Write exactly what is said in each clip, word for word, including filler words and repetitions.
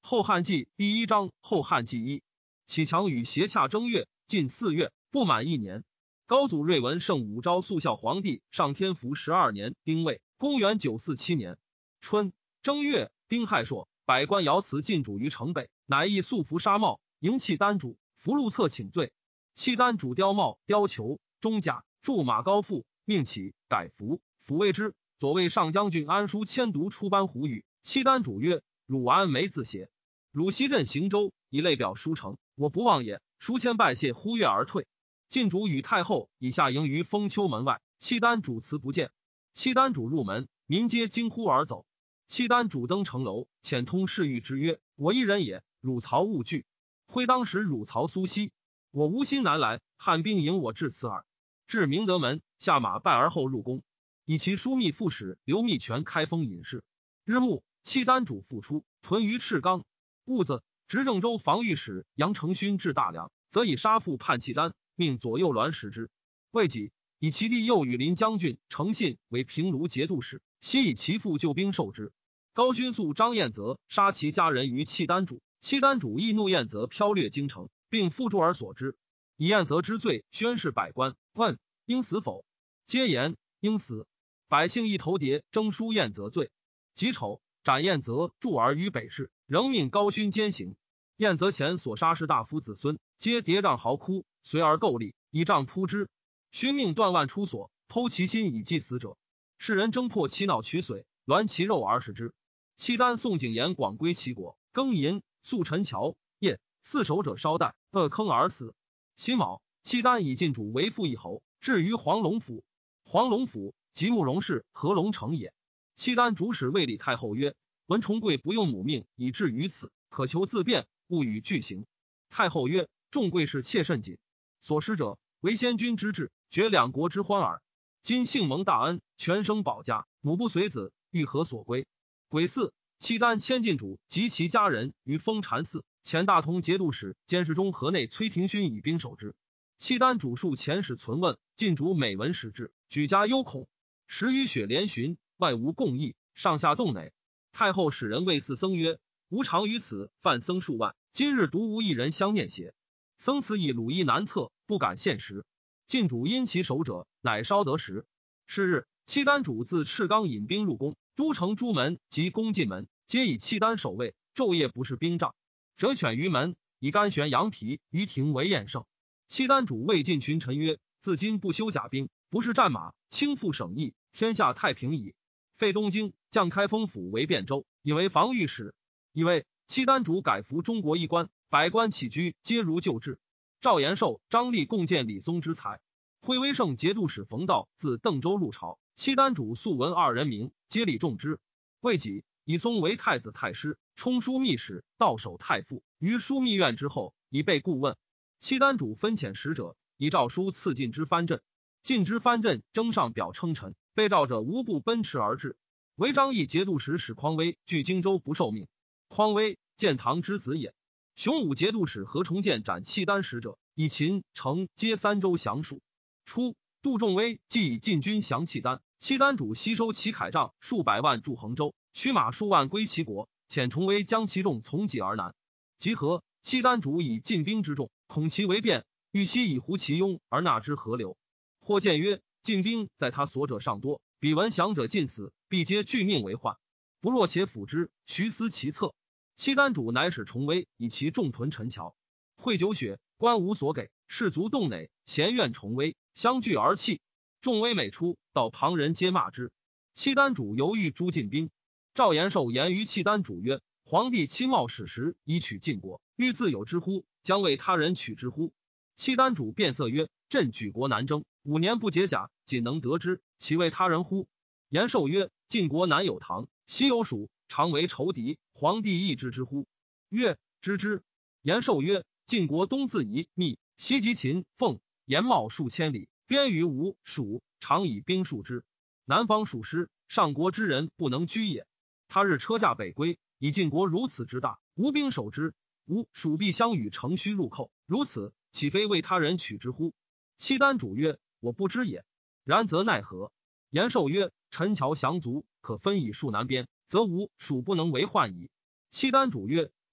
后汉纪第一章后汉纪一。启强与协洽正月，近四月，不满一年。高祖睿文圣武昭肃孝皇帝上天福十二年丁未，公元九四七年春正月，丁亥朔，百官爻辞进主于城北，乃诣素服纱帽，迎契丹主，符录册请罪。契丹主雕帽、雕裘、中甲，驻马高复，命起改服，抚慰之。左卫上将军安书迁读出班胡语。契丹主曰：汝安没自写？汝西镇行州，以类表书城，我不忘也。书迁拜谢，呼跃而退。晋主与太后以下迎于封丘门外，契丹主辞不见。契丹主入门，民皆惊呼而走。契丹主登城楼，遣通侍御之曰：我一人也，汝曹勿惧。徽当时汝曹苏西，我无心南来，汉兵迎我至此耳。至明德门，下马拜而后入宫，以其枢密副使刘密全开封隐士。日暮，契丹主复出，屯于赤冈。戊子，执政州防御使杨承勋至大梁，则以杀父叛契丹，命左右鸾食之。未几，以其弟右羽林将军诚信为平卢节度使，悉以其父救兵受之。高勋素张彦泽杀其家人于契丹主，契丹主易怒彦泽剽掠京城，并付诸而所之。以彦泽之罪宣示百官，问应死否？皆言应死。百姓一头牒征书彦泽罪。己丑，斩彦泽，驻而于北市，仍命高勋监刑。彦泽前所杀士大夫子孙，皆叠杖嚎哭，随而构立，以杖扑之。勋命断腕出所，剖其心以祭死者。世人争破其脑取髓，栾其肉而食之。契丹宋景琰广归齐国，庚寅，宿陈桥，夜四守者烧带，扼坑而死。辛卯，契丹以晋主为父一侯，至于黄龙府。黄龙府即慕容氏合龙城也。契丹主使谓李太后曰：文重贵不用母命以至于此，可求自辩，勿与俱行。太后曰：众贵士切甚谨，所施者为先君之志，绝两国之欢耳。今幸蒙大恩，全生保家，母不随子，欲何所归？癸巳，契丹迁晋主及其家人于封禅寺，前大同节度使监视中河内崔廷勋以兵守之。契丹主数遣使存问，晋主每闻时至，举家忧恐。时雨雪连巡，外无共议，上下动馁。太后使人谓四僧曰：吾常于此犯僧数万，今日独无一人相念邪？僧此以鲁夷难测，不敢现时。晋主因其守者，乃稍得时。是日，契丹主自赤冈引兵入宫，都城诸门及宫进门，皆以契丹守卫，昼夜不是兵仗。折犬于门，以干悬羊皮于庭为宴胜。契丹主谓晋群臣曰：自今不修甲兵，不是战马，轻负省邑，天下太平矣。废东京，降开封府为汴州，以为防御使。以为契丹主改服中国衣冠，百官起居皆如旧制。赵延寿、张立共见李松之才。徽威胜节度使冯道自邓州入朝，契丹主素闻二人名，皆礼重之。未几，以松为太子太师，充枢密使，到守太傅，于枢密院之后，以备顾问。契丹主分遣使者，以诏书赐晋之藩镇。晋之藩镇征上表称臣，被诏者无不奔驰而至。为张毅节度使史匡威据荆州不受命。匡威，建唐之子也。雄武节度使何重建斩契丹使者，以秦、成皆三州降属。初，杜仲威既以晋军降契丹，契丹主吸收其铠仗数百万驻衡州，驱马数万归齐国，遣重威将其众从己而南。集合，契丹主以进兵之众，恐其为变，欲悉以胡其庸而纳之河流。或见曰：进兵在他所者尚多，彼闻降者尽死，必皆拒命为患。不若且辅之，徐思其策。契丹主乃使重威以其众屯陈桥。会酒血，官无所给，士卒动馁，咸怨重威，相聚而泣。众威每出，到旁人皆骂之。契丹主犹豫诛进兵。赵延寿言于契丹主曰：皇帝亲冒矢石以取晋国，欲自有之乎？将为他人取之乎？契丹主变色曰：朕举国南征，五年不解甲，仅能得之，其为他人乎？延寿曰：晋国南有唐，西有蜀，常为仇敌，皇帝亦知之乎？曰：知之。延寿曰：晋国东自夷、密，西及秦、凤、延茂数千里，边于吴、蜀，常以兵戍之。南方属师，上国之人不能居也。他日车驾北归，以晋国如此之大，无兵守之，吴、蜀必相与乘虚入寇，如此，岂非为他人取之乎？契丹主曰：我不知也。然则奈何？延寿曰：陈桥降卒，可分以戍南边，则吴、蜀不能为患矣。契丹主曰：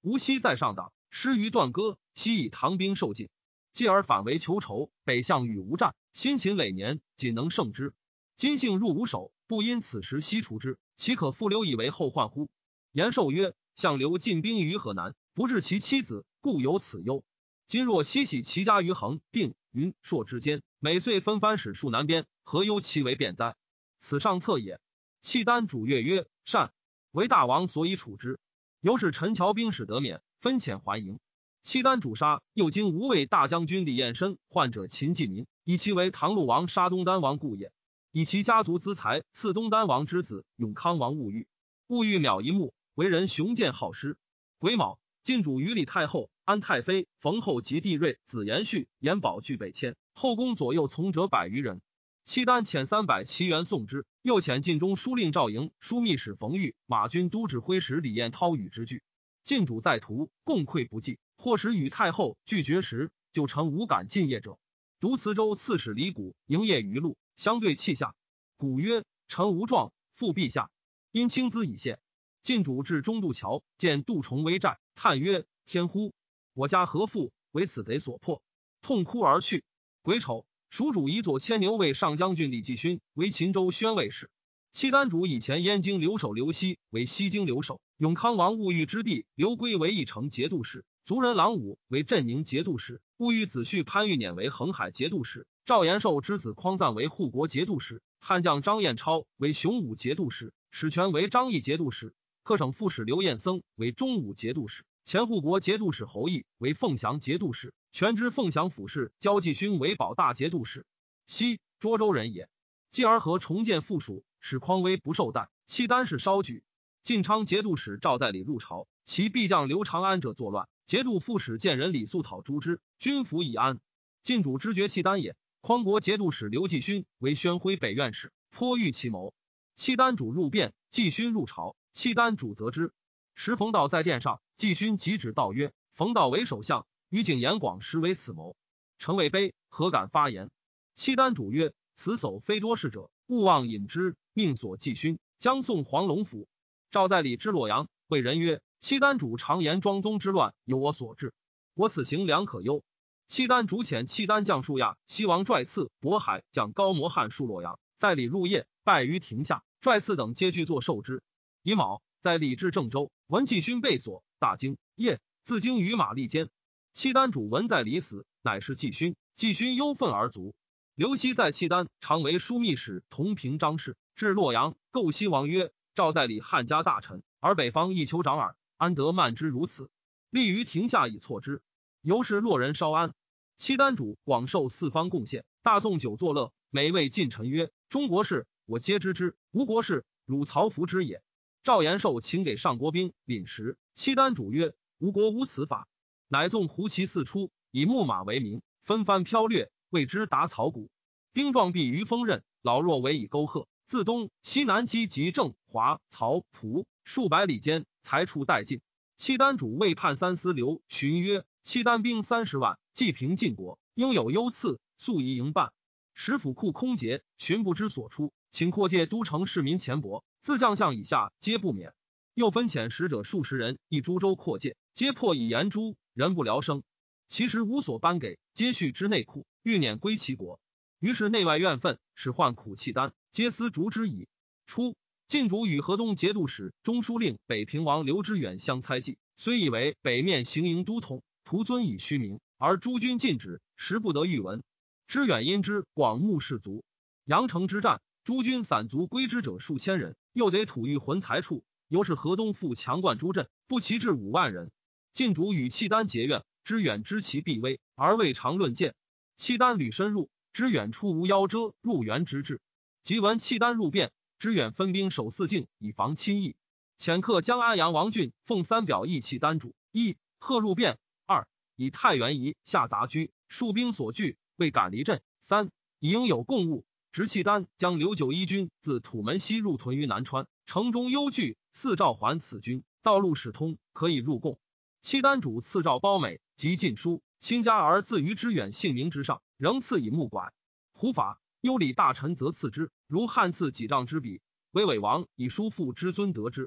吴熙在上党，失于断戈，西以唐兵受尽，继而反为求仇，北向与吴战，辛勤累年，仅能胜之。今幸入吴手，不因此时西除之，岂可复留以为后患乎？延寿曰：相刘进兵于河南，不治其妻子，故有此忧。今若西徙其家于衡、定、云、朔之间，每岁分番使戍南边，何忧其为变哉？此上策也。契丹主越曰：善。为大王所以处之。由是陈桥兵使得免，分遣还营。契丹主杀右京无畏大将军李彦深，患者秦继民，以其为唐陆王杀东丹王故也。以其家族资财赐东丹王之子永康王兀玉。兀玉邈一目，为人雄健好施。癸卯，晋主与李太后、安太妃、冯后及帝瑞、子延续、延保俱北迁，后宫左右从者百余人。契丹遣三百骑员送之，又遣晋中书令赵营、枢密使冯玉、马军都指挥使李彦涛与之俱。晋主在途，共溃不济，或使与太后拒绝时，就成无敢进业者。独磁州刺史李谷营业于路，相对泣下。谷曰：臣无状，复陛下。因轻资以谢。晋主至中渡桥，见杜重危寨，叹曰：天乎！我家何父为此贼所破？痛哭而去。癸丑，蜀主以左牵牛卫上将军李继勋为秦州宣慰使。契丹主以前燕京留守刘熙为西京留守，永康王兀玉之弟刘圭为义城节度使，族人郎武为镇宁节度使，兀玉子婿潘玉辇为恒海节度使，赵延寿之子匡赞为护国节度使，汉将张彦超为雄武节度使，史权为张义节度使，客省副使刘彦僧为中武节度使，前护国节度使侯毅为凤翔节度使，全知凤翔府事焦继勋为保大节度使。西涿州人也。继而和重建附属，使匡威不受待，契丹氏稍举。晋昌节度使赵在礼入朝，其必将刘长安者作乱，节度副使见人李肃讨诛之，军服以安。晋主知觉契丹也。匡国节度使刘继勋为宣徽北院使，颇欲其谋。契丹主入便，继勋入朝，契丹主责之。时冯道在殿上，继勋即指道曰：冯道为首相，于景延广实为此谋。臣未卑，何敢发言？契丹主曰：此叟非多事者，勿忘引之，命所继勋，将送黄龙府。赵在礼之洛阳，谓人曰：契丹主常言庄宗之乱有我所致，我此行良可忧。契丹主遣契丹将数亚、西王拽次、渤海将高摩汉戍洛阳，在礼入夜，败于庭下，拽次等皆具作受之。乙卯，在礼至郑州，闻继勋被锁，大惊。夜，自惊于马利间。契丹主闻在礼死，乃是继勋，继勋忧愤而卒。刘熙在契丹常为枢密使同平章事，至洛阳，构西王曰：赵在礼汉家大臣，而北方亦酋长耳，安得慢之如此？立于庭下以挫之。由是洛人稍安。契丹主广受四方贡献，大纵酒作乐，每谓近臣曰：中国事我皆知之，吴国事汝曹服之也。赵延寿请给上国兵领食，契丹主曰：吴国无此法。乃纵胡骑四出，以木马为名，纷番飘掠，谓之打草谷。丁壮必于锋刃，老弱为以沟壑。自东西南击及郑、华、曹、蒲数百里间，才处殆尽。契丹主为判三司刘询曰：契丹兵三十万，既平晋国，应有优次，速宜营办。使府库空竭，寻不知所出，请扩界都城市民钱帛，自将相以下皆不免。又分遣使者数十人，以株洲扩界，皆破以言诛，人不聊生。其实无所颁给，皆蓄之内库，欲辇归其国。于是内外怨愤，使患苦契丹，皆思逐之矣。初，晋主与河东节度使、中书令北平王刘知远相猜忌，虽以为北面行营都统，徒尊以虚名，而诸军禁止，实不得御闻。知远因之广募士卒，阳城之战，诸军散卒归之者数千人，又得土御浑财处，由是河东复强冠诸镇，不齐至五万人。晋主与契丹结怨，知远知其必危，而未尝论谏。契丹屡深入，知远出无夭遮入援之志。即闻契丹入便，知远分兵守四境，以防侵益。遣客将安阳王俊奉三表议契丹主：一、贺入便；二、以太原夷下杂居，戍兵所据，未敢离镇；三、以应有贡物，执契丹将刘九一军自土门西入屯于南川，城中忧惧，四召还此军，道路始通，可以入贡。契丹主赐诏褒美及禁书，亲加而自于知远姓名之上，仍赐以木拐。胡法优礼大臣则赐之，如汉赐几丈之笔，为伪王以叔父之尊得之。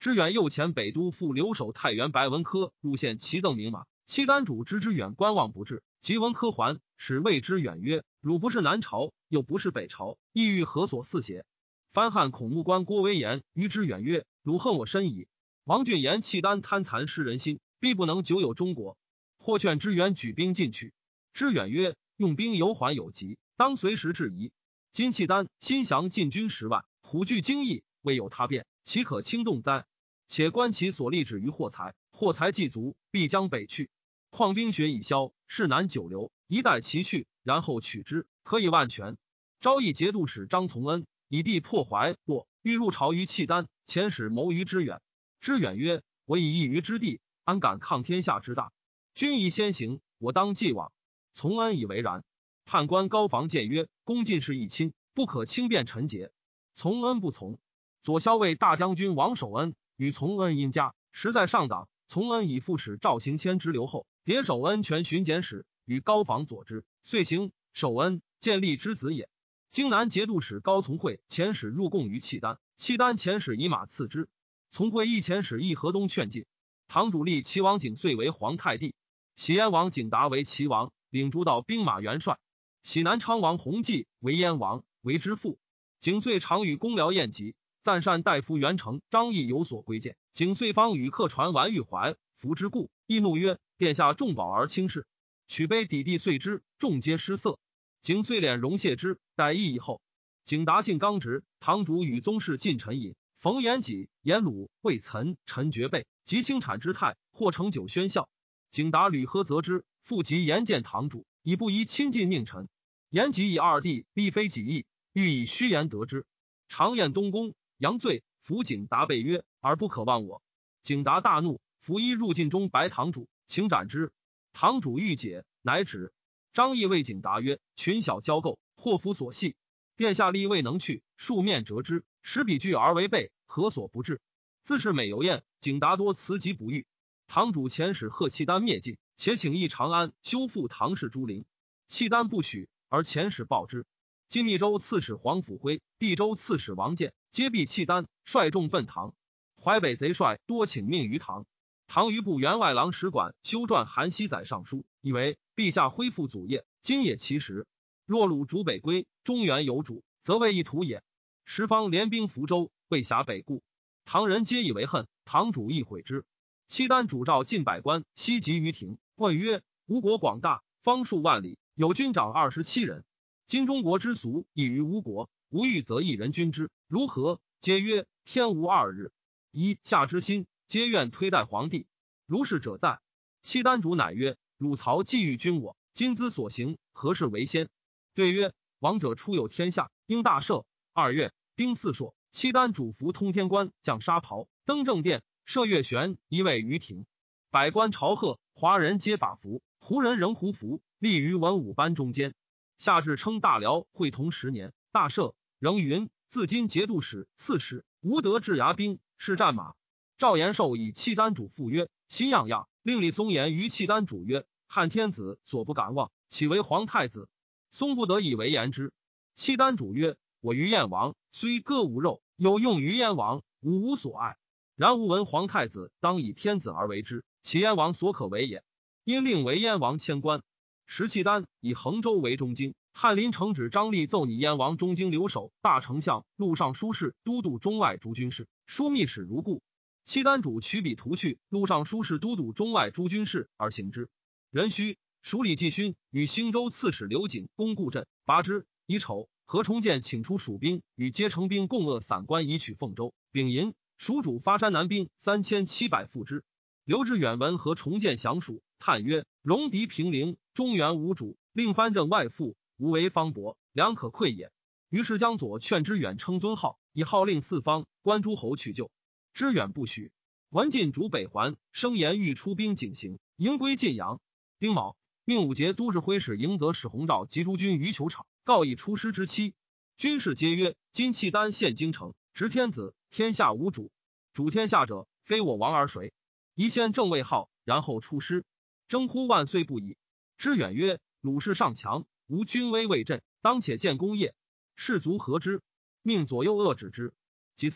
知远右前北都副留守太原白文科入县齐赠名马，契丹主知之远观望不至，即文科还，使谓之远曰：汝不是南朝，又不是北朝，意欲何所似邪？藩汉孔目官郭威言于之远曰：汝恨我深矣。王俊言契丹贪残失人心，必不能久有中国，或劝知远举兵进去。知远曰：用兵有缓有急，当随时制宜。今契丹新降禁军十万，虎踞京邑，未有他变，岂可轻动哉？且观其所立止于货财，货财既足，必将北去。况兵学已消，势难久留，一待其去，然后取之，可以万全。昭义节度使张从恩以地破怀洛，欲入朝于契丹，遣使谋于知远。知远曰：我以一隅之地，安敢抗天下之大？君宜先行，我当继往。从恩以为然。判官高房谏曰：公进士一亲，不可轻便臣节。从恩不从。左骁卫大将军王守恩与从恩因家，实在上党。从恩以副使赵行谦之留后，迭守恩权巡检使，与高房佐之，遂行。守恩建立之子也。荆南节度使高从诲遣使入贡于契丹，契丹遣使以马赐之。从诲亦遣使议河东劝进。堂主立齐王景遂为皇太帝，喜燕王景达为齐王，领诸道兵马元帅。喜南昌王弘济为燕王，为之父。景遂常与公僚宴集，赞善大夫元成、张毅有所归谏。景遂方与客传完玉怀，服之故，亦怒曰：殿下重宝而轻视，取杯抵地遂之，众皆失色。景遂敛容谢之，待议以后。景达性刚直，堂主与宗室近臣饮，冯延己、颜鲁、魏岑、陈觉备及清产之态，或成酒喧笑。景达屡喝责之，复即言见堂主，以不宜亲近佞臣。延己以二弟必非己意，欲以虚言得之。常宴东宫，杨罪，服景达备曰：而不可忘我。景达大怒，伏衣入禁中白堂主，请斩之。堂主欲解，乃止。张毅谓景达曰：群小交构，祸福所系，殿下力未能去，数面折之，使彼惧而为备，何所不至？自是每游宴，景达多辞疾不遇。堂主遣使贺契丹灭晋，且请诣长安修复唐氏诸陵，契丹不许，而遣使报之。晋密州刺史黄甫辉、地州刺史王建皆避契丹，率众奔唐。淮北贼帅多请命于唐。唐余部员外郎使馆修撰韩熙载上书，以为陛下恢复祖业，今也其时。若鲁主北归，中原有主，则为一图也。十方联兵福州，未辖北顾，唐人皆以为恨，堂主亦悔之。契丹主召近百官，西集于庭，问曰：吴国广大，方数万里，有军长二十七人。今中国之俗异于吴国，吴欲则一人君之，如何？皆曰：天无二日。一下之心，皆愿推戴皇帝。如是者在。契丹主乃曰：汝曹既欲君我，今兹所行，何事为先？对曰：王者出有天下，应大赦。二月，丁巳朔，契丹主服通天冠，降沙袍，登正殿，设月悬一位于庭。百官朝贺，华人皆法服，胡人仍胡服，立于文武班中间。夏至称大辽会同十年，大赦。仍云：自今节度使、刺史无得治牙兵，是战马。赵延寿以契丹主父曰：心样样。令李松言于契丹主曰：汉天子所不敢忘，岂为皇太子？松不得以为言之。契丹主曰：我于燕王虽割无肉，有用于燕王，吾无所爱。然吾闻皇太子当以天子而为之，其燕王所可为也。因令为燕王迁官。时契丹以衡州为中京，翰林承旨张立奏拟燕王中京留守、大丞相、录尚书事、都督中外诸军事，枢密使如故。契丹主取笔图去录尚书事、都督中外诸军事而行之。壬戌，署理季勋与兴州刺史刘瑾攻固镇，拔之。乙丑，何重建请出蜀兵与皆成兵共扼散关，以取凤州。丙寅，蜀主发山南兵三千七百赴之。刘知远闻何重建降蜀，叹曰：戎狄平陵，中原无主，令藩镇外附，无为方伯，良可愧也。于是将左劝知远称尊号，以号令四方，关诸侯去救。知远不许。文晋主北还，声言欲出兵警行，迎归晋阳。丁卯，命武节都指挥使迎泽史弘照及诸军于球场，告以出师之期。军士皆曰：今契丹陷京城，执天子，天下无主，主天下者，非我王而谁？宜先正位号，然后出师，争呼万岁不已。知远曰：鲁士尚强，吾军威未振，当且建功业。士卒何之？命左右遏止之。其次，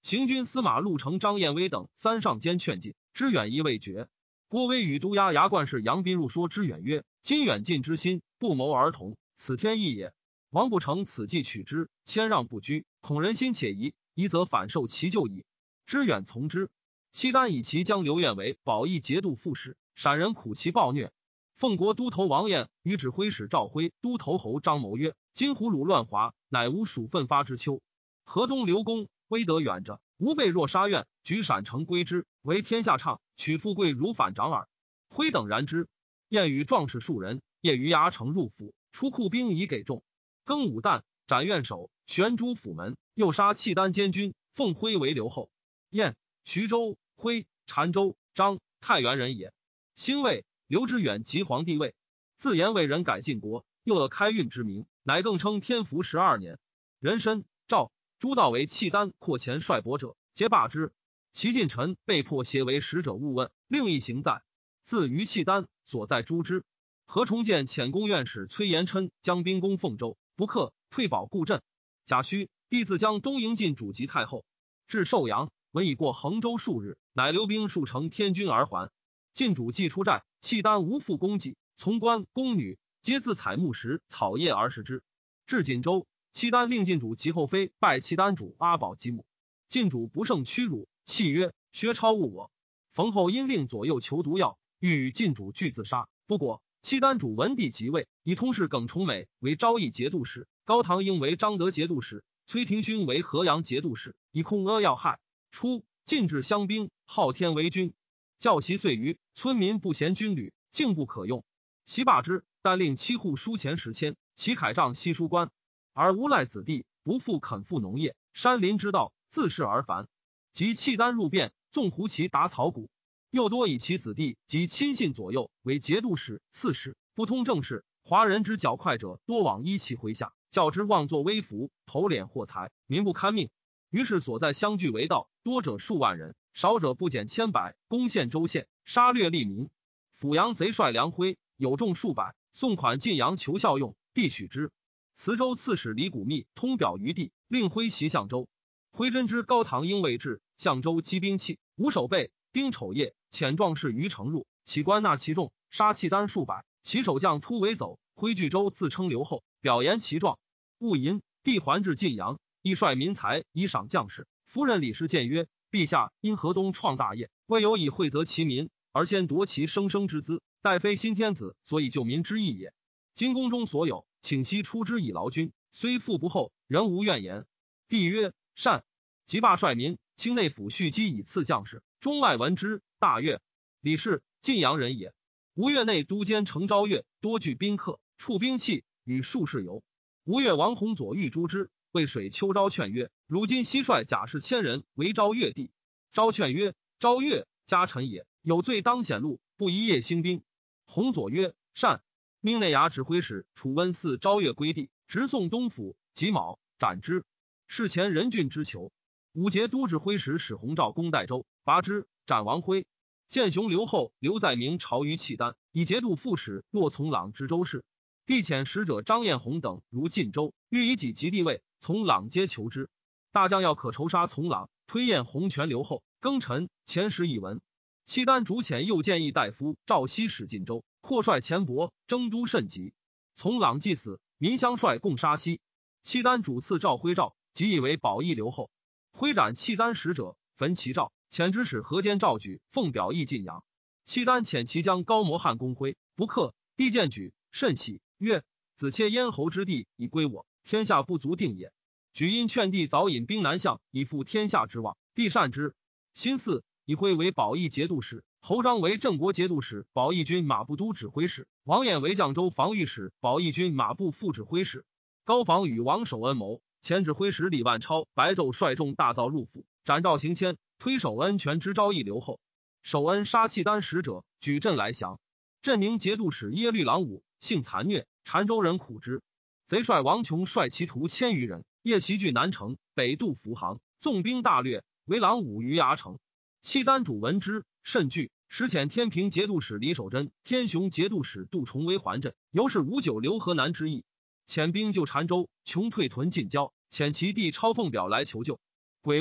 行军司马陆承、张彦威等三上监劝进，知远意未决。郭威与都押牙冠士杨宾入说知远曰：今远近之心，不谋而同，此天意也。王不成此计取之，谦让不居，恐人心且疑，疑则反受其咎矣。知远从之。契丹以其将刘晏为保义节度副使，陕人苦其暴虐。奉国都头王晏与指挥使赵辉、都头侯张谋曰：今胡虏乱华，乃无属奋发之秋。河东刘公威德远者，吾辈若杀愿，举陕城归之，为天下畅，取富贵如反掌耳。辉等然之。晏与壮士数人，夜于牙城入府，出库兵以给众。更午旦，斩院守，悬诸府门，又杀契丹监军，奉辉为留后。晏、徐州、辉、澶州、张、太原人也。兴魏，刘知远即皇帝位，自言为人改晋国，又得开运之名，乃更称天福十二年。人参、赵、朱道为契丹扩前率伯者，皆罢之。其近臣被迫携为使者勿问，另一行在。自于契丹，所在诛之。何重建遣宫院使崔延琛将兵攻凤州，不克，退保固镇。贾诩帝自将东营进主及太后，至寿阳，闻已过衡州数日，乃留兵数乘天军而还。晋主既出寨，契丹无复供给，从官宫女皆自采木石草叶而食之。至锦州，契丹令晋主及后妃拜契丹主阿保机母，晋主不胜屈辱，泣曰：薛超误我。冯后因令左右求毒药，欲与晋主俱自杀，不果。契丹主文帝即位，以通事耿崇美为昭义节度使，高唐英为彰德节度使，崔廷勋为河阳节度使，以控阿要害。初，晋制乡兵，昊天为军，教习岁余，村民不嫌军旅，竟不可用。袭罢之，但令七户书钱十千，其铠杖悉书官，而无赖子弟，不复肯赴农业，山林之道，自是而繁。及契丹入变，纵胡骑打草谷。又多以其子弟及亲信左右为节度使、刺史，不通政事。华人之较快者，多往依其麾下，较之妄作威服，头敛获财，民不堪命。于是所在相聚为道，多者数万人，少者不减千百，攻陷州县，杀掠利民。阜阳贼帅梁辉有众数百，送款晋阳求效用，帝许之。磁州刺史李谷密通表于帝，令辉袭相州。辉真知高唐应未至，相州积兵器，无守备。丁丑夜，遣壮士于城入，起官纳其众，杀契丹数百。其守将突围走，挥巨州自称留后，表言其状。戊寅，帝还至晋阳，亦率民财以赏将士。夫人李氏谏曰：陛下因河东创大业，未有以惠泽其民，而先夺其生生之资，待非新天子，所以救民之意也。今宫中所有，请悉出之以劳军，虽富不厚，仍无怨言。帝曰：善。即罢率民，清内府蓄积以赐将士。中外闻之，大悦。李氏，晋阳人也。吴越内都监程昭岳多具宾客，处兵器，与术士游。吴越王弘左欲诛之，为水秋昭劝曰：如今西率甲士千人为昭越地。昭劝曰：昭越，家臣也，有罪当显露，不一夜兴兵。弘左曰：善。命内衙指挥使楚温嗣昭越归地，直送东府，己卯斩之。事前任郡之囚。武节都指挥使使弘照攻代州，拔之，斩王辉。建雄留后刘在明朝于契丹，以节度副使骆从朗知州事。帝遣使者张彦宏等如晋州，欲以己及地位，从朗皆求之。大将要可仇杀从朗，推彦宏权留后。庚辰，前时已闻。契丹主遣右谏议大夫赵熙使晋州，扩率钱帛，征都甚急。从朗既死，民相率共杀熙。契丹主赐赵徽诏，即以为保义留后。挥斩契丹使者，焚其诏，遣之使河间赵举奉表义晋阳。契丹遣其将高摩汉公徽，不克。帝见举，甚喜，曰：子妾咽喉之地已归我，天下不足定也。举因劝帝早引兵南向，以复天下之望，帝善之。辛巳，以徽为保义节度使，侯章为镇国节度使、保义军马步都指挥使，王衍为绛州防御使、保义军马步副指挥使。高防与王守恩谋。前指挥使李万超白昼率众大造入府，斩赵行谦，推守恩权之昭义留后。守恩杀契丹使者，举镇来降。镇宁节度使耶律郎武性残虐，澶州人苦之。贼帅王琼率其徒千余人，夜袭据南城，北渡扶杭，纵兵大掠，为郎武于牙城。契丹主闻之，甚惧，时遣天平节度使李守贞、天雄节度使杜重为还镇，由是无久留河南之意。遣兵救澶州，穷退屯晋郊，遣其弟抄奉表来求救。癸未，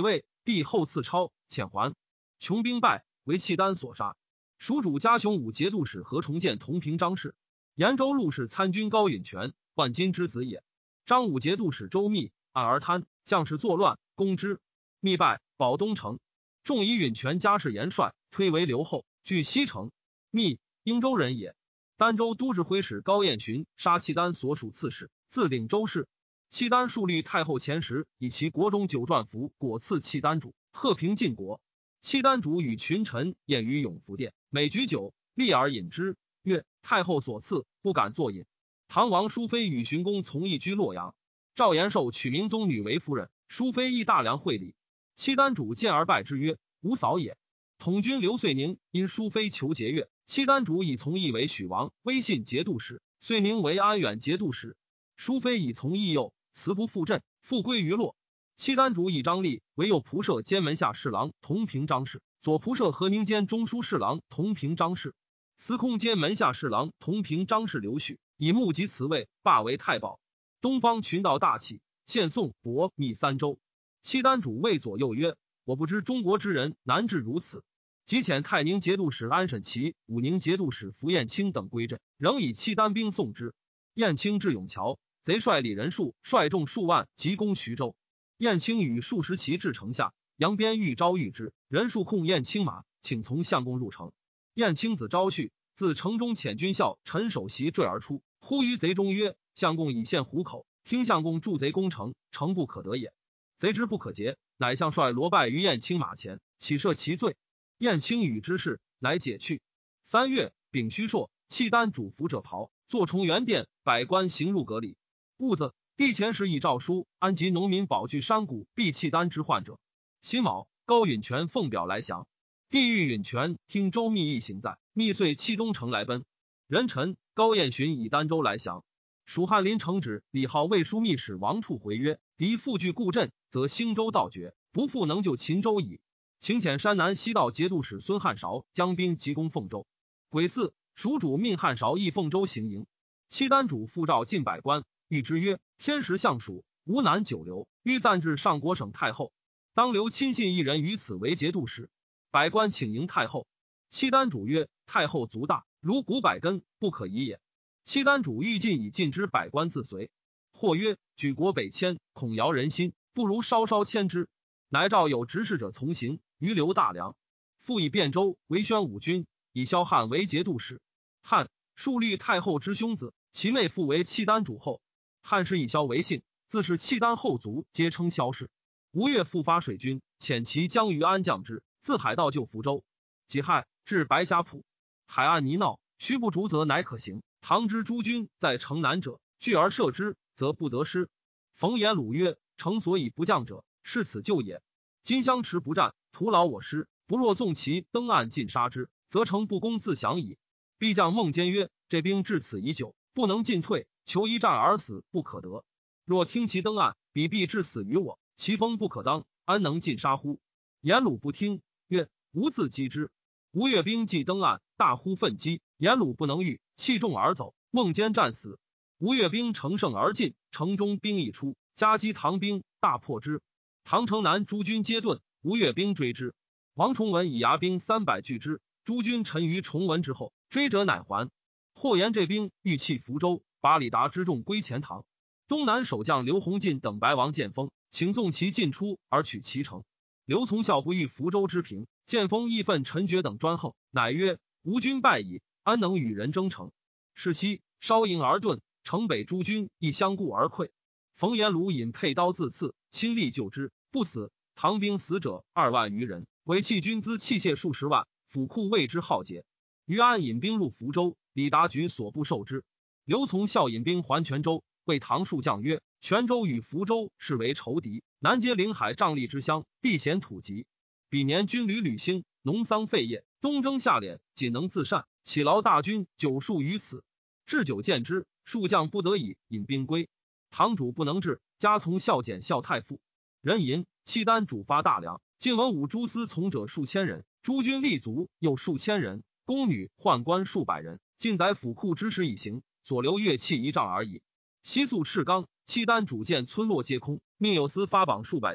帝后赐超，遣还。穷兵败，为契丹所杀。蜀主嘉雄武节度使何重建同平章事。延州陆氏参军高允全，万金之子也。张武节度使周密，暗而贪，将士作乱，攻之。密败，保东城。众以允全家世严帅，推为留后，据西城。密，应州人也。儋州都指挥使高彦寻杀契丹所属刺史，自领州事。契丹数律太后前时，以其国中九传符果赐契丹主，贺平晋国。契丹主与群臣宴于永福殿，每举酒，立而饮之，曰：太后所赐，不敢作饮。唐王淑妃与荀公从义居洛阳。赵延寿娶明宗女为夫人，淑妃亦大良会礼。契丹主见而拜之曰：吾嫂也。统军刘遂宁因淑妃求节钺，契丹主以从义为许王，威信节度使，遂宁为安远节度使。淑妃以从义右，辞不复镇，复归于洛。契丹主以张力为右仆射兼门下侍郎同平章事，左仆射何宁兼中书侍郎同平章事，司空兼门下侍郎同平章事刘许以目及辞位，罢为太保。东方群盗大起，献宋博密三州。契丹主谓左右曰：我不知中国之人难治如此。即遣泰宁节度使安审琦、武宁节度使符彦卿等归镇，仍以契丹兵送之。彦卿至永桥，贼率李仁术率众数万急攻徐州。彦卿与数十骑至城下，扬鞭欲招谕之，仁术控彦卿马，请从相公入城。彦卿子昭绪自城中遣军校陈首席坠而出，呼于贼中曰：相公已陷虎口，听相公助贼攻城，城不可得也。贼之不可劫，乃相率罗败于彦卿马前，起赦其罪。彦卿与之事，乃解去。三月，丙戌朔，契丹主服者袍，坐重元殿，百官行入阁里。戊子，帝前时以诏书安及农民保据山谷避契丹之患者。辛卯，高允全奉表来降。帝谕允全听周密一行在，密遂弃东城来奔。壬辰，高彦寻以儋州来降。蜀翰林承旨李浩卫书密使王处回曰：敌复据故镇，则兴州道绝，不复能救秦州矣。请遣山南西道节度使孙汉韶将兵急攻凤州。癸巳，蜀主命汉韶诣凤州行营。契丹主复召近百官，谕之曰：天时相属，吾难久留，欲暂至上国省太后，当留亲信一人于此为节度使。百官请迎太后。契丹主曰：太后足大，如古百根，不可移也。契丹主欲尽以尽之百官自随。或曰：举国北迁，恐摇人心，不如稍稍迁之。乃召有执事者从行，余留大梁。复以汴州为宣武军，以萧汉为节度使。汉，数律太后之兄子，其妹父为契丹主后。汉氏以萧为姓，自是契丹后族，皆称萧氏。吴越复发水军，遣其将于安降之，自海盗救福州。己亥，至白峡浦，海岸泥淖，须不逐则乃可行。唐之诸军在城南者，拒而射之，则不得失。冯延鲁曰：城所以不降者，是此救也。今相持不战，徒劳我师，不若纵其登岸尽杀之，则城不攻自降矣。必将孟坚曰：这兵至此已久，不能进退，求一战而死不可得。若听其登岸，彼必致死于我，其锋不可当，安能尽杀乎？颜鲁不听，曰：吾自击之。吴越兵既登岸，大呼奋击，颜鲁不能御，弃众而走，孟坚战死。吴越兵乘胜而进，城中兵一出，夹击唐兵，大破之。唐城南诸军皆遁，吴越兵追之。王崇文以牙兵三百拒之，诸军沉于崇文之后，追者乃还。或言这兵欲弃福州，把李达之众归前唐。东南守将刘弘进等白王建丰，请纵其进出而取其城。刘从孝不欲福州之平，建丰义愤陈觉等专横，乃曰：吴军败矣，安能与人争城？是夕，稍营而遁，城北诸军亦相顾而溃。冯延鲁引佩刀自刺，亲力救之，不死。唐兵死者二万余人，为弃军资器械数十万，府库为之浩劫。于安引兵入福州，李达举所不受之。刘从孝引兵还泉州，谓唐数将曰：泉州与福州是为仇敌，南接临海瘴疠之乡，地险土急。彼年军旅履兴，农桑废业，东征下敛，仅能自善，岂劳大军久戍于此。置酒见之，数将不得已引兵归。唐主不能治，加从孝减孝太傅。人吟契丹主发大梁，晋文武诸司从者数千人，诸军立足又数千人，宫女宦官数百人，尽载府库之时已行，所留乐器一丈而已。西宿赤冈，契丹主见村落皆空，命有司发榜数百通，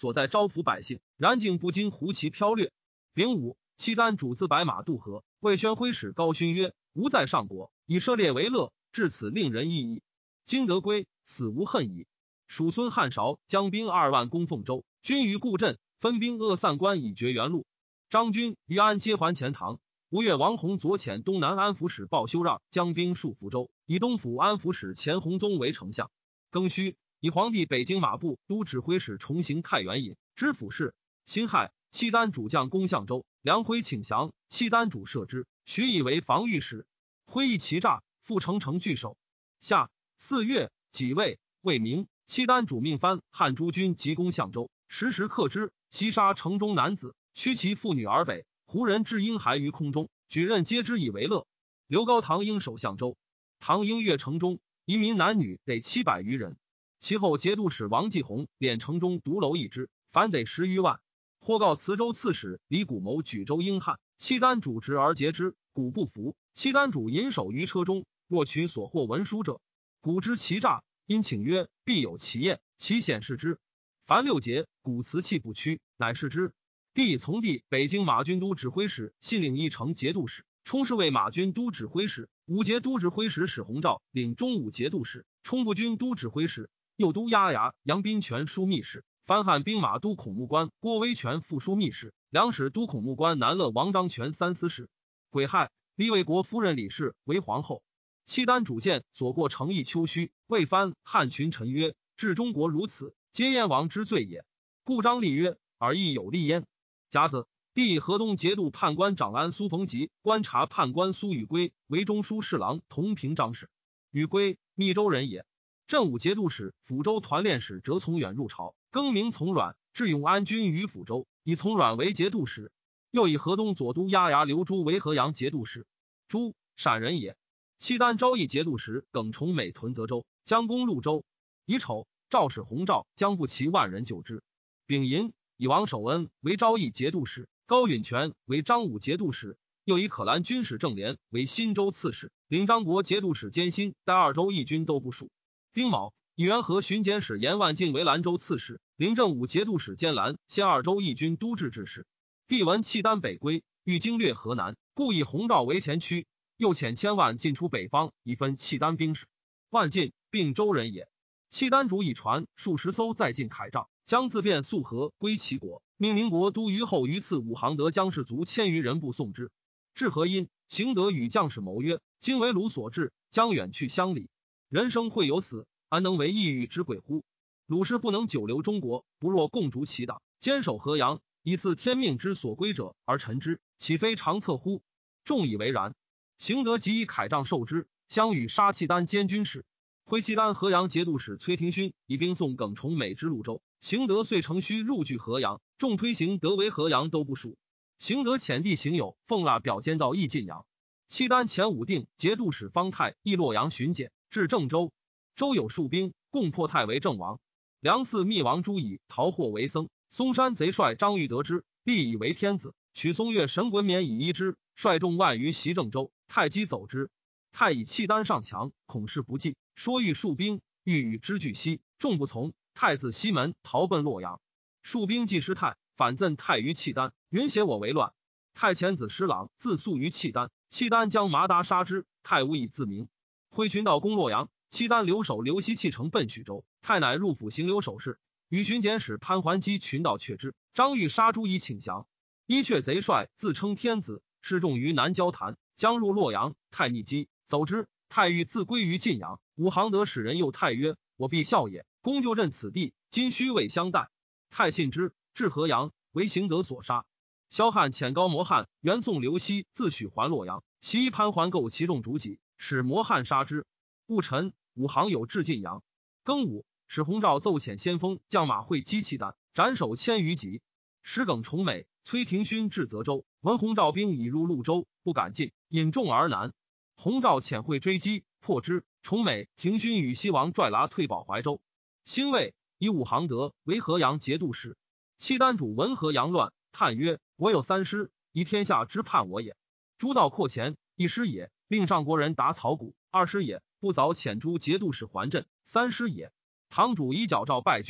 所在招抚百姓，然竟不禁胡其飘掠。丙午，契丹主自白马渡河，魏宣徽使高勋曰：吾在上国，以射猎为乐，至此令人异议。今得归，死无恨矣。属孙汉韶将兵二万攻凤州，军于固镇，分兵扼散关以绝原路。张军、于安皆还钱塘。吴越王弘左遣东南安抚使鲍修让将兵戍福州，以东府安抚使钱弘宗为丞相。庚戌，以皇帝北京马步都指挥使重行太原尹知府事。辛亥，契丹主将攻相州，梁辉请降，契丹主赦之，许以为防御使。辉以其诈，复城城据守。夏四月己未，未明，契丹主命藩汉诸军急攻相州，时时克之，袭杀城中男子，驱其妇女而北。胡人置婴孩于空中，举刃皆之以为乐。刘高唐英守相州，唐英越城中，移民男女得七百余人。其后节度使王继宏敛城中独楼一之，凡得十余万。或告磁州刺史李谷谋举州英汉，契丹主执而截之，古不服。契丹主隐守于车中，若取所获文书者，古知其诈，因请曰：必有其验，其显示之。凡六节，古辞气不屈，乃是之。帝以从弟北京马军都指挥使信领一城节度使，充是为马军都指挥使。武节都指挥使史弘照领中武节度使，充步军都指挥使，右都押牙杨宾权枢密使，番汉兵马都孔目官郭威权副枢密使，两使都孔目官南乐王章权三司使。癸亥，立魏国夫人李氏为皇后。契丹主见所过诚意丘墟，谓藩汉群臣曰：治中国如此，皆燕王之罪也。故张立曰：尔亦有立焉。甲子，帝以河东节度判官长安苏逢吉、观察判官苏宇圭为中书侍郎同平章事。宇圭，密州人也。镇武节度使、抚州团练使折从远入朝，更名从阮，置永安军于抚州，以从阮为节度使。又以河东左都押牙刘朱为河阳节度使。朱，陕人也。契丹昭义节度使耿崇美屯泽州，将攻潞州。乙丑，赵使弘照将不齐万人救之。丙寅，以王守恩为昭义节度使，高允全为张武节度使，又以可兰军使郑连为新州刺史，领张国节度使兼新代二州义军都部署。丁卯，以元和巡检使严万进为兰州刺史，领正武节度使兼兰现二州义军都制制使。帝闻契丹北归，欲经略河南，故以弘照为前驱，又遣千万进出北方，以分契丹兵士。万进，并州人也。契丹主以船数十艘在晋凯帐，将自便溯河归齐国，命宁国都虞候于赐武行德将士卒千余人部送之。至河阴，行德与将士谋曰：今为鲁所至，将远去乡里，人生会有死，安能为异域之鬼乎？鲁氏不能久留中国，不若共逐其党，坚守河阳，以似天命之所归者而臣之，岂非长策乎？众以为然。行德即以凯帐受之，相与杀契丹监军事。徽契丹河阳节度使崔廷勋以兵送耿崇美之潞州，行德遂乘虚入据河阳，众推行德为河阳都部署。行德遣弟行友奉腊表监到义晋阳。契丹前武定节度使方泰诣洛阳巡检，至郑州，州有数兵，共破泰为郑王。梁嗣密王朱以逃获为僧，嵩山贼帅张玉得之，立以为天子，取松岳神衮冕以依之，率众万余袭郑州，泰击走之。泰以契丹上强，恐事不济，说欲戍兵，欲与之俱西，众不从。太自西门逃奔洛阳。戍兵既失泰，反赠泰于契丹，允写我为乱。泰遣子施琅自诉于契丹，契丹将麻达杀之，泰无以自明。挥群盗攻洛阳，契丹留守刘熙弃城奔许州，泰乃入府行留守事，与巡检使潘桓基群盗却之，张欲杀诸以请降。伊阙贼帅自称天子，示众于南交潭，将入洛阳，泰逆击走之。泰欲自归于晋阳，武行德使人诱泰曰：我必效也，公就任此地，今须未相待。泰信之，至河阳，为行德所杀。萧汉遣高摩汉援送刘熙自许还洛阳，袭潘桓构其众逐己，使摩汉杀之。戊辰，武行有至晋阳。庚午，使弘照奏遣先锋将马会击契丹，斩首千余级。使耿崇美、崔廷勋至泽州，闻弘照兵已入潞州，不敢进，引众而南。弘照遣会追击，破之。崇美、廷勋与西王拽剌退保怀州。兴卫以武行德为河阳节度使。契丹主闻河阳乱，叹曰：我有三师，以天下之叛我也。诸道扩前，一师也，令上国人打草谷；二师也，不早遣诸节度使还镇；三师也，堂主以矫诏败军，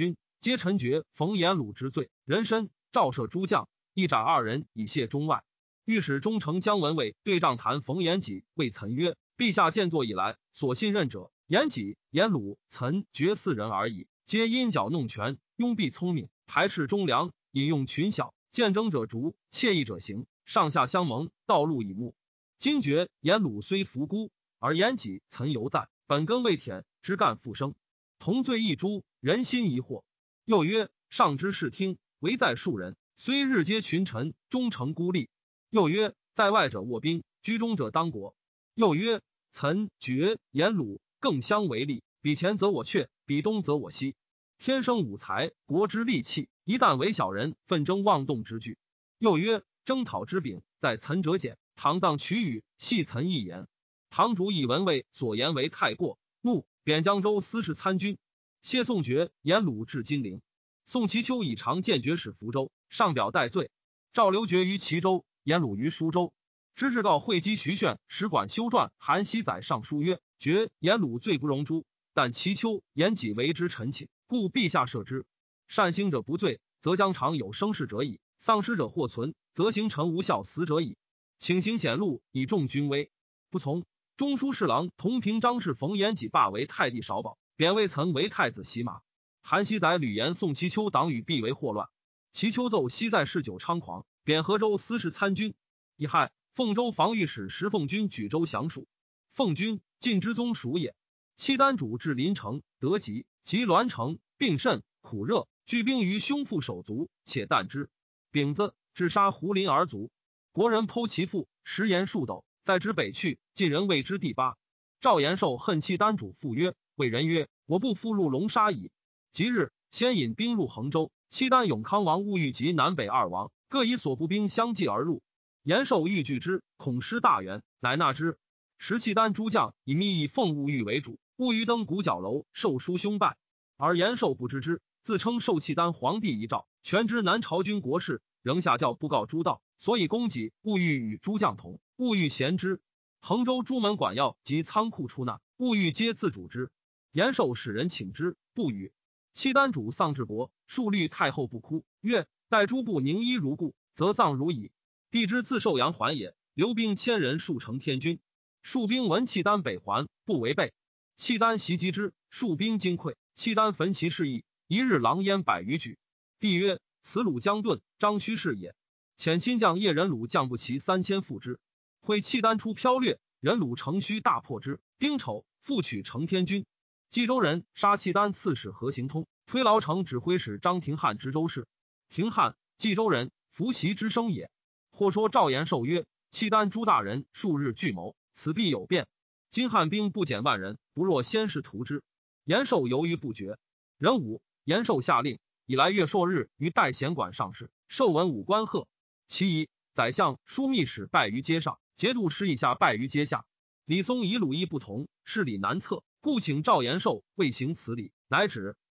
皆陈觉、冯延鲁之罪，人参、赵赦诸将，一斩二人以谢中外。御史中丞姜文卫对帐谈冯延己，谓岑曰：陛下建作以来，所信任者，延己、延鲁、岑、觉四人而已，皆阴角弄权，拥蔽聪明，排斥忠良，引用群小，见争者逐，惬意者行，上下相盟，道路以目。今觉、延鲁虽服孤，而延己、岑犹在，本根未舔，枝干复生，同罪一诛，人心疑惑。又曰：上之视听，唯在庶人，虽日皆群臣，终成孤立。又曰：在外者卧兵，居中者当国。又曰：岑、觉、延鲁更相为利，比前则我阙，比东则我西。天生五才，国之利器，一旦为小人，纷争妄动之具。又曰：征讨之柄，在岑者简，唐藏取语，系岑一言。唐主以文卫所言为太过，怒，贬江州司事参军。谢宋觉、延鲁至金陵。宋其丘以长见觉使福州，上表戴罪。赵留觉于齐州，延鲁于舒州。知制告会稽徐铉使馆修撰韩熙载上书曰：觉、延鲁罪不容诛，但齐丘、延己为之臣妾，故陛下赦之。善兴者不罪，则将常有生事者矣；丧失者或存，则行臣无效死者矣。请行显露，以重军威。不从。中书侍郎同平章事冯延己罢为太帝少保，贬魏岑为太子洗马。韩熙载屡言宋其丘党羽必为祸乱，其丘奏昔在嗜酒猖狂，贬河州司事参军。乙亥，凤州防御使石凤军举州降蜀。凤军，晋之宗属也。契丹主至临城，得疾，及栾城，病甚，苦热，聚兵于胸腹手足，且啖之。丙子，致杀胡林而卒。国人剖其腹，食言数斗，在之北去，晋人谓之第八。赵延寿恨契丹主，复曰：谓人曰：我不复入龙沙矣。即日，先引兵入衡州，契丹永康王兀玉及南北二王，各以所部兵相继而入。延寿欲拒之，恐失大元，乃纳之。时契丹诸将以密议奉兀玉为主，兀玉登古角楼受书兄拜，而延寿不知之，自称受契丹皇帝遗诏，全知南朝军国事，仍下诏布告诸道，所以供给。兀玉与诸将同，兀玉贤之。衡州诸门管要及仓库出纳，兀玉皆自主之。延寿使人请之，不与。契丹主丧至伯，数虑太后不哭，曰：待诸部宁衣如故，则葬如矣。帝之自寿阳还也，留兵千人数成天军。戍兵闻契丹北还，不违背。契丹袭击之，戍兵惊溃，契丹焚其事邑，一日狼烟百余举。帝曰：此鲁将遁，张须是也。遣亲将叶人鲁将不齐三千赴之。会契丹出剽掠，人鲁乘虚大破之。丁丑，复取成天军。冀州人杀契丹刺史何行通，推劳城指挥使张廷翰知州事。廷翰，冀州人，伏袭之生也。或说赵延寿曰：契丹诸大人数日聚谋，此必有变。今汉兵不减万人，不若先是图之。延寿犹豫不决。壬午，延寿下令，以来月朔日于代贤馆上市，授文武官贺。其一，宰相、枢密使败于阶上，节度使以下败于阶下。李松以鲁仪不同，事理难测，故请赵延寿为行此礼，乃止。